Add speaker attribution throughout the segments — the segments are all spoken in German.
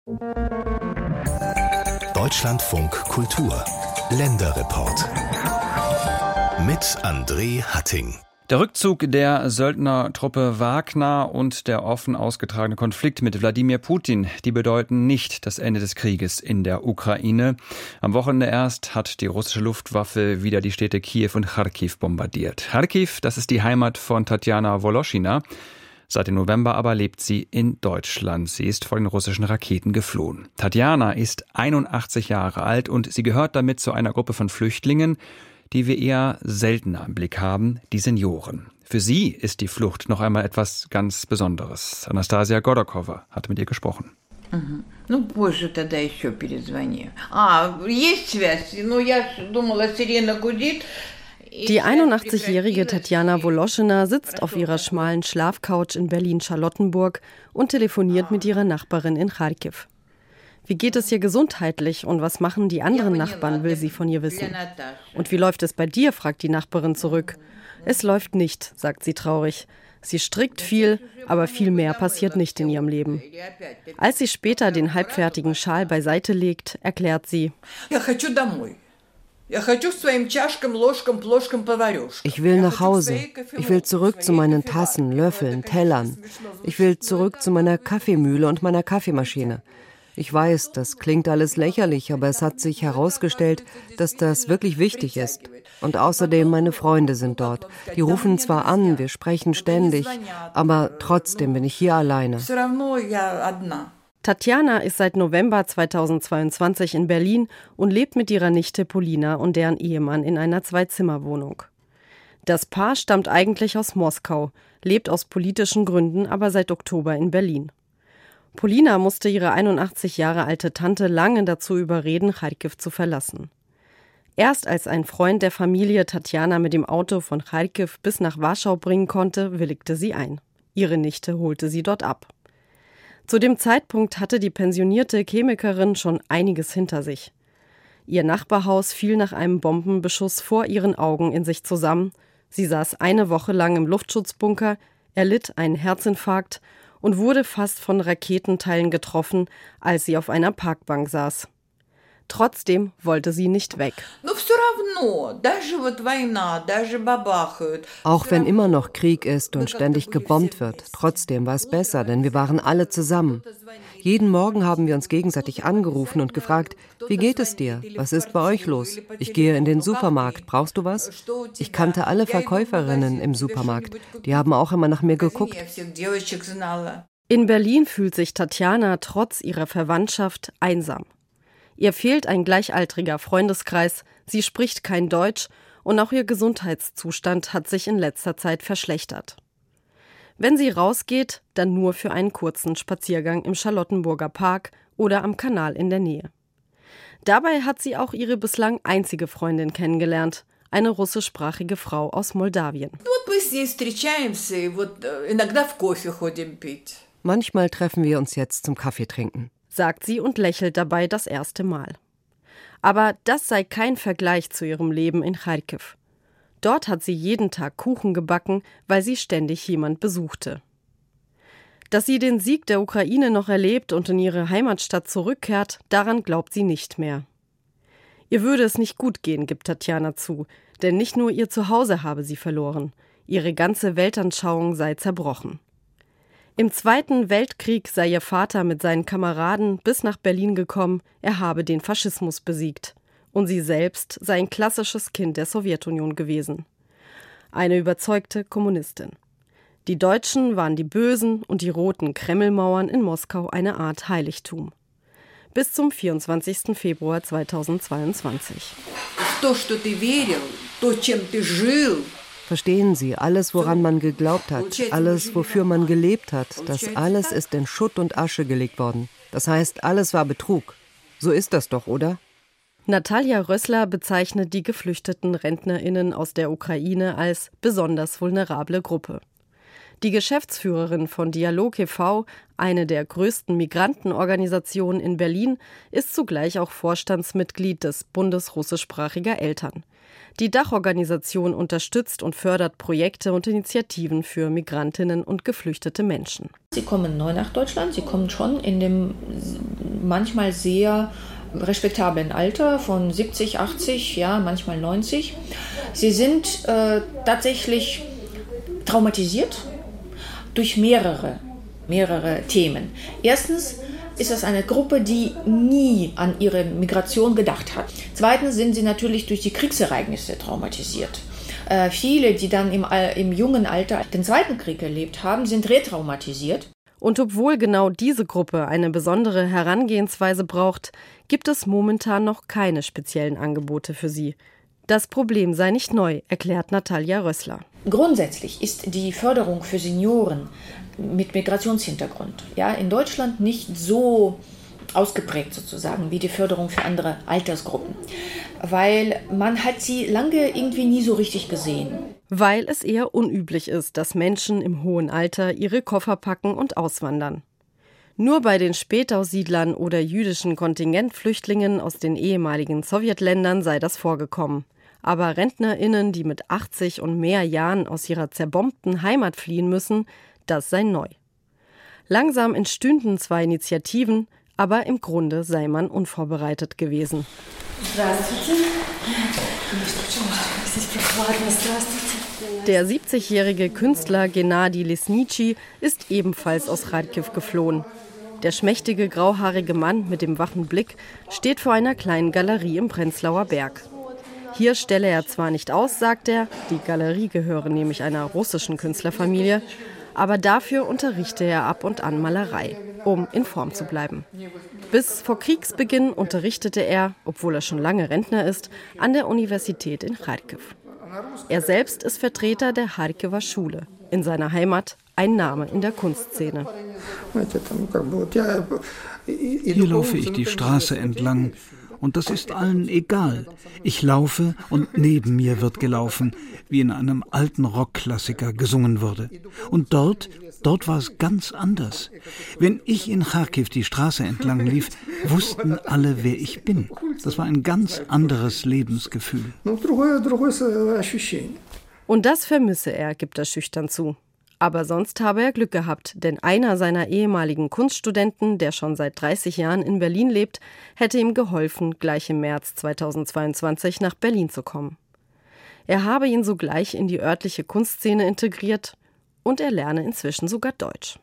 Speaker 1: Deutschlandfunk Kultur Länderreport mit André Hatting.
Speaker 2: Der Rückzug der Söldnertruppe Wagner und der offen ausgetragene Konflikt mit Wladimir Putin, die bedeuten nicht das Ende des Krieges in der Ukraine. Am Wochenende erst hat die russische Luftwaffe wieder die Städte Kiew und Charkiw bombardiert. Charkiw, das ist die Heimat von Tatjana Woloschina. Seit dem November aber lebt sie in Deutschland. Sie ist vor den russischen Raketen geflohen. Tatjana ist 81 Jahre alt und sie gehört damit zu einer Gruppe von Flüchtlingen, die wir eher seltener im Blick haben, die Senioren. Für sie ist die Flucht noch einmal etwas ganz Besonderes. Anastasia Godokowa hat mit ihr gesprochen.
Speaker 3: Die 81-jährige Tatjana Woloschina sitzt auf ihrer schmalen Schlafcouch in Berlin-Charlottenburg und telefoniert mit ihrer Nachbarin in Charkiw. Wie geht es ihr gesundheitlich und was machen die anderen Nachbarn, will sie von ihr wissen. Und wie läuft es bei dir, fragt die Nachbarin zurück. Es läuft nicht, sagt sie traurig. Sie strickt viel, aber viel mehr passiert nicht in ihrem Leben. Als sie später den halbfertigen Schal beiseite legt, erklärt sie:
Speaker 4: Ich will nach Hause. Ich will zurück zu meinen Tassen, Löffeln, Tellern. Ich will zurück zu meiner Kaffeemühle und meiner Kaffeemaschine. Ich weiß, das klingt alles lächerlich, aber es hat sich herausgestellt, dass das wirklich wichtig ist. Und außerdem, meine Freunde sind dort. Die rufen zwar an, wir sprechen ständig, aber trotzdem bin ich hier alleine.
Speaker 3: Tatjana ist seit November 2022 in Berlin und lebt mit ihrer Nichte Polina und deren Ehemann in einer Zwei-Zimmer-Wohnung. Das Paar stammt eigentlich aus Moskau, lebt aus politischen Gründen aber seit Oktober in Berlin. Polina musste ihre 81 Jahre alte Tante lange dazu überreden, Charkiw zu verlassen. Erst als ein Freund der Familie Tatjana mit dem Auto von Charkiw bis nach Warschau bringen konnte, willigte sie ein. Ihre Nichte holte sie dort ab. Zu dem Zeitpunkt hatte die pensionierte Chemikerin schon einiges hinter sich. Ihr Nachbarhaus fiel nach einem Bombenbeschuss vor ihren Augen in sich zusammen. Sie saß eine Woche lang im Luftschutzbunker, erlitt einen Herzinfarkt und wurde fast von Raketenteilen getroffen, als sie auf einer Parkbank saß. Trotzdem wollte sie nicht weg.
Speaker 4: Auch wenn immer noch Krieg ist und ständig gebombt wird, trotzdem war es besser, denn wir waren alle zusammen. Jeden Morgen haben wir uns gegenseitig angerufen und gefragt: Wie geht es dir? Was ist bei euch los? Ich gehe in den Supermarkt. Brauchst du was? Ich kannte alle Verkäuferinnen im Supermarkt. Die haben auch immer nach mir geguckt.
Speaker 3: In Berlin fühlt sich Tatjana trotz ihrer Verwandtschaft einsam. Ihr fehlt ein gleichaltriger Freundeskreis, sie spricht kein Deutsch und auch ihr Gesundheitszustand hat sich in letzter Zeit verschlechtert. Wenn sie rausgeht, dann nur für einen kurzen Spaziergang im Charlottenburger Park oder am Kanal in der Nähe. Dabei hat sie auch ihre bislang einzige Freundin kennengelernt, eine russischsprachige Frau aus Moldawien.
Speaker 4: Manchmal treffen wir uns jetzt zum Kaffee trinken,
Speaker 3: sagt sie und lächelt dabei das erste Mal. Aber das sei kein Vergleich zu ihrem Leben in Charkiw. Dort hat sie jeden Tag Kuchen gebacken, weil sie ständig jemand besuchte. Dass sie den Sieg der Ukraine noch erlebt und in ihre Heimatstadt zurückkehrt, daran glaubt sie nicht mehr. Ihr würde es nicht gut gehen, gibt Tatjana zu, denn nicht nur ihr Zuhause habe sie verloren. Ihre ganze Weltanschauung sei zerbrochen. Im Zweiten Weltkrieg sei ihr Vater mit seinen Kameraden bis nach Berlin gekommen, er habe den Faschismus besiegt. Und sie selbst sei ein klassisches Kind der Sowjetunion gewesen. Eine überzeugte Kommunistin. Die Deutschen waren die Bösen und die roten Kremlmauern in Moskau eine Art Heiligtum. Bis zum 24. Februar 2022.
Speaker 4: Verstehen Sie, alles, woran man geglaubt hat, alles, wofür man gelebt hat, das alles ist in Schutt und Asche gelegt worden. Das heißt, alles war Betrug. So ist das doch, oder?
Speaker 3: Natalia Rössler bezeichnet die geflüchteten RentnerInnen aus der Ukraine als besonders vulnerable Gruppe. Die Geschäftsführerin von Dialog e.V., eine der größten Migrantenorganisationen in Berlin, ist zugleich auch Vorstandsmitglied des Bundes russischsprachiger Eltern. Die Dachorganisation unterstützt und fördert Projekte und Initiativen für Migrantinnen und geflüchtete Menschen.
Speaker 5: Sie kommen neu nach Deutschland, sie kommen schon in dem manchmal sehr respektablen Alter von 70, 80, ja, manchmal 90. Sie sind tatsächlich traumatisiert durch mehrere Themen. Erstens ist es eine Gruppe, die nie an ihre Migration gedacht hat. Zweitens sind sie natürlich durch die Kriegsereignisse traumatisiert. Viele, die dann im jungen Alter den Zweiten Krieg erlebt haben, sind retraumatisiert.
Speaker 3: Und obwohl genau diese Gruppe eine besondere Herangehensweise braucht, gibt es momentan noch keine speziellen Angebote für sie. Das Problem sei nicht neu, erklärt Natalia Rössler.
Speaker 5: Grundsätzlich ist die Förderung für Senioren mit Migrationshintergrund in Deutschland nicht so ausgeprägt sozusagen wie die Förderung für andere Altersgruppen, weil man hat sie lange irgendwie nie so richtig gesehen.
Speaker 3: Weil es eher unüblich ist, dass Menschen im hohen Alter ihre Koffer packen und auswandern. Nur bei den Spätaussiedlern oder jüdischen Kontingentflüchtlingen aus den ehemaligen Sowjetländern sei das vorgekommen. Aber RentnerInnen, die mit 80 und mehr Jahren aus ihrer zerbombten Heimat fliehen müssen, das sei neu. Langsam entstünden zwar Initiativen, aber im Grunde sei man unvorbereitet gewesen. Der 70-jährige Künstler Gennady Lesnitsky ist ebenfalls aus Charkiw geflohen. Der schmächtige, grauhaarige Mann mit dem wachen Blick steht vor einer kleinen Galerie im Prenzlauer Berg. Hier stelle er zwar nicht aus, sagt er, die Galerie gehöre nämlich einer russischen Künstlerfamilie, aber dafür unterrichte er ab und an Malerei, um in Form zu bleiben. Bis vor Kriegsbeginn unterrichtete er, obwohl er schon lange Rentner ist, an der Universität in Charkiw. Er selbst ist Vertreter der Charkiwer Schule, in seiner Heimat ein Name in der Kunstszene.
Speaker 6: Hier laufe ich die Straße entlang. Und das ist allen egal. Ich laufe und neben mir wird gelaufen, wie in einem alten Rockklassiker gesungen wurde. Und dort war es ganz anders. Wenn ich in Charkiw die Straße entlang lief, wussten alle, wer ich bin. Das war ein ganz anderes Lebensgefühl.
Speaker 3: Und das vermisse er, gibt er schüchtern zu. Aber sonst habe er Glück gehabt, denn einer seiner ehemaligen Kunststudenten, der schon seit 30 Jahren in Berlin lebt, hätte ihm geholfen, gleich im März 2022 nach Berlin zu kommen. Er habe ihn sogleich in die örtliche Kunstszene integriert und er lerne inzwischen sogar Deutsch.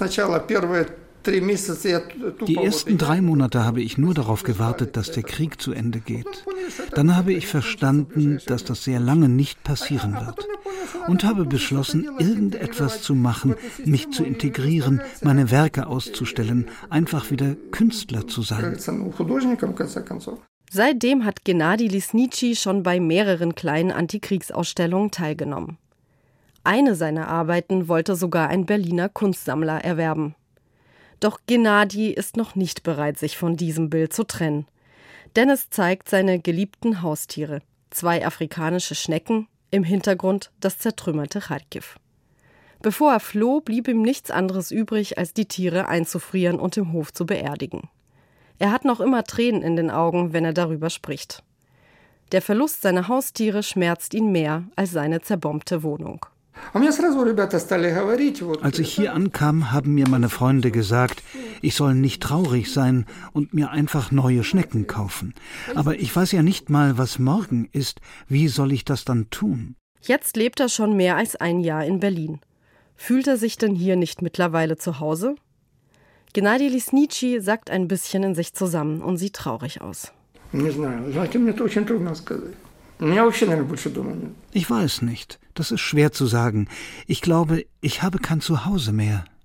Speaker 6: Die ersten 3 Monate habe ich nur darauf gewartet, dass der Krieg zu Ende geht. Dann habe ich verstanden, dass das sehr lange nicht passieren wird. Und habe beschlossen, irgendetwas zu machen, mich zu integrieren, meine Werke auszustellen, einfach wieder Künstler zu sein.
Speaker 3: Seitdem hat Gennady Lesnitsky schon bei mehreren kleinen Antikriegsausstellungen teilgenommen. Eine seiner Arbeiten wollte sogar ein Berliner Kunstsammler erwerben. Doch Gennady ist noch nicht bereit, sich von diesem Bild zu trennen. Denn es zeigt seine geliebten Haustiere, 2 afrikanische Schnecken, im Hintergrund das zertrümmerte Charkiw. Bevor er floh, blieb ihm nichts anderes übrig, als die Tiere einzufrieren und im Hof zu beerdigen. Er hat noch immer Tränen in den Augen, wenn er darüber spricht. Der Verlust seiner Haustiere schmerzt ihn mehr als seine zerbombte Wohnung.
Speaker 6: Als ich hier ankam, haben mir meine Freunde gesagt, ich soll nicht traurig sein und mir einfach neue Schnecken kaufen. Aber ich weiß ja nicht mal, was morgen ist. Wie soll ich das dann tun?
Speaker 3: Jetzt lebt er schon mehr als ein Jahr in Berlin. Fühlt er sich denn hier nicht mittlerweile zu Hause? Gennady Lesnitsky sackt ein bisschen in sich zusammen und sieht traurig aus.
Speaker 6: Ich weiß nicht. Das ist schwer zu sagen. Ich glaube, ich habe kein Zuhause mehr.